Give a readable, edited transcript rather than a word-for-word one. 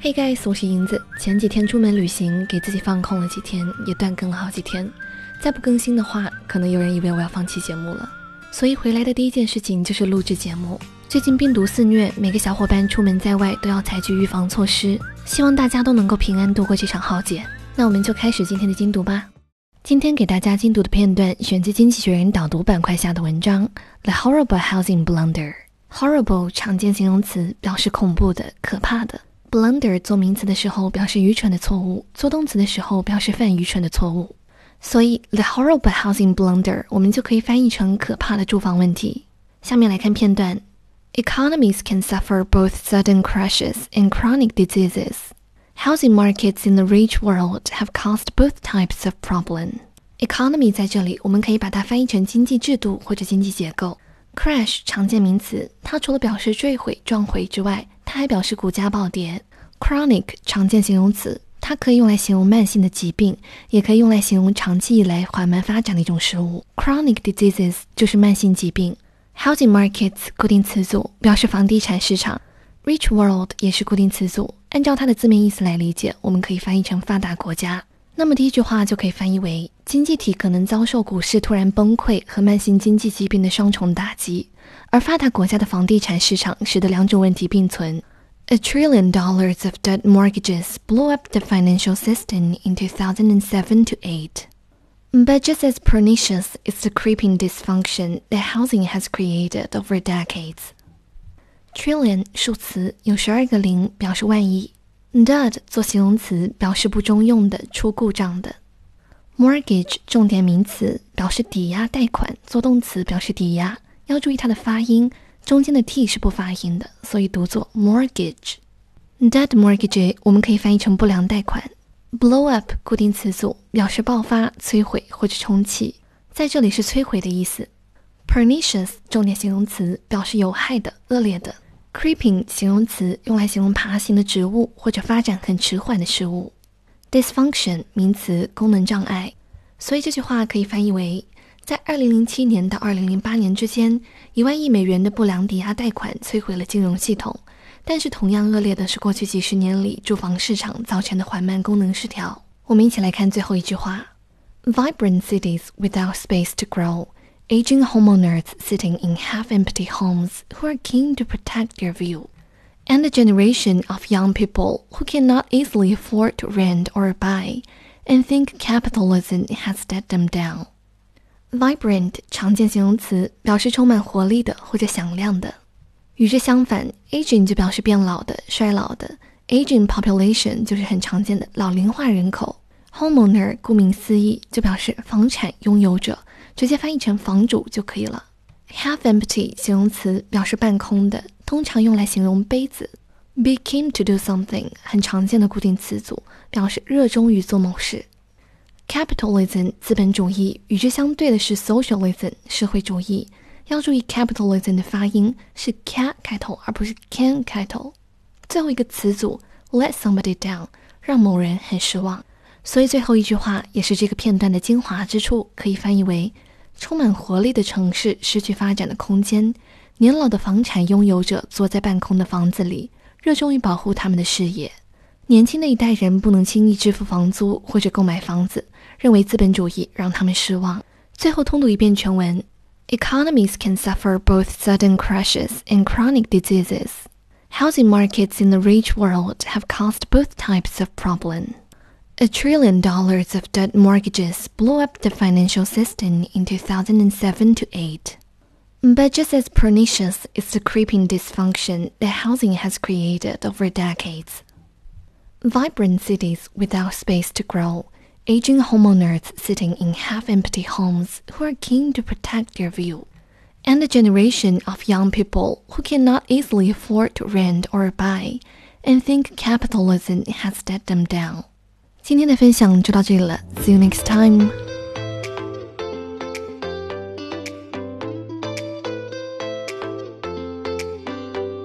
Hey guys， 我是银子。前几天出门旅行，给自己放空了几天，也断更了好几天。再不更新的话，可能有人以为我要放弃节目了。所以回来的第一件事情就是录制节目。最近病毒肆虐，每个小伙伴出门在外都要采取预防措施，希望大家都能够平安度过这场浩劫。那我们就开始今天的精读吧。今天给大家精读的片段选自经济学人导读板块下的文章 The Horrible Housing Blunder。 Horrible 常见形容词，表示恐怖的、可怕的。 Blunder 做名词的时候表示愚蠢的错误，做动词的时候表示犯愚蠢的错误。所以 The Horrible Housing Blunder 我们就可以翻译成可怕的住房问题。下面来看片段。 Economies can suffer both sudden crashes and chronic diseases. Housing markets in the rich world have caused both types of problem. Economy 在这里我们可以把它翻译成经济制度或者经济结构。 Crash 常见名词，它除了表示坠毁、撞毁之外，它还表示股价暴跌。 Chronic 常见形容词，它可以用来形容慢性的疾病，也可以用来形容长期以来缓慢发展的一种事物。 Chronic diseases 就是慢性疾病。 Housing markets 固定词组，表示房地产市场。 Rich world 也是固定词组，按照它的字面意思来理解，我们可以翻译成发达国家。那么第一句话就可以翻译为，经济体可能遭受股市突然崩溃和慢性经济疾病的双重打击，而发达国家的房地产市场使得两种问题并存。$1 trillion of debt mortgages blew up the financial system in 2007 to 8. But just as pernicious is the creeping dysfunction that housing has created over decades. Trillion 数词，有12个零，表示万亿。Dud 做形容词，表示不中用的、出故障的。Mortgage 重点名词，表示抵押贷款，做动词表示抵押。要注意它的发音，中间的 t 是不发音的，所以读作 mortgage。Debt mortgage 我们可以翻译成不良贷款。Blow up 固定词组，表示爆发、摧毁或者重启，在这里是摧毁的意思。Pernicious 重点形容词，表示有害的、恶劣的。Creeping 形容词，用来形容爬行的植物或者发展很迟缓的事物。Dysfunction 名词，功能障碍。所以这句话可以翻译为，在2007年到2008年之间，1万亿美元的不良抵押贷款摧毁了金融系统，但是同样恶劣的是过去几十年里住房市场造成的缓慢功能失调。我们一起来看最后一句话。 Vibrant cities without space to grow.Aging homeowners sitting in half-empty homes who are keen to protect their view, and a generation of young people who cannot easily afford to rent or buy, and think capitalism has let them down. Vibrant 常见形容词，表示充满活力的或者响亮的。与之相反 aging 就表示变老的、衰老的。Aging population 就是很常见的老龄化人口。Homeowner 顾名思义就表示房产拥有者，直接翻译成房主就可以了。Half empty 形容词，表示半空的，通常用来形容杯子。Be keen to do something 很常见的固定词组，表示热衷于做某事。Capitalism 资本主义，与之相对的是 socialism 社会主义。要注意 capitalism 的发音是 ca 开头，而不是 can 开头。最后一个词组 let somebody down 让某人很失望。所以最后一句话也是这个片段的精华之处，可以翻译为，充满活力的城市失去发展的空间，年老的房产拥有者坐在半空的房子里，热衷于保护他们的事业。年轻的一代人不能轻易支付房租或者购买房子，认为资本主义让他们失望。最后通读一遍全文。 Economies can suffer both sudden crashes and chronic diseases. Housing markets in the rich world have caused both types of problem.$1 trillion of debt mortgages blew up the financial system in 2007 to 8. But just as pernicious is the creeping dysfunction that housing has created over decades. Vibrant cities without space to grow, aging homeowners sitting in half-empty homes who are keen to protect their view, and a generation of young people who cannot easily afford to rent or buy, and think capitalism has let them down.今天的分享就到这里了 ，See you next time.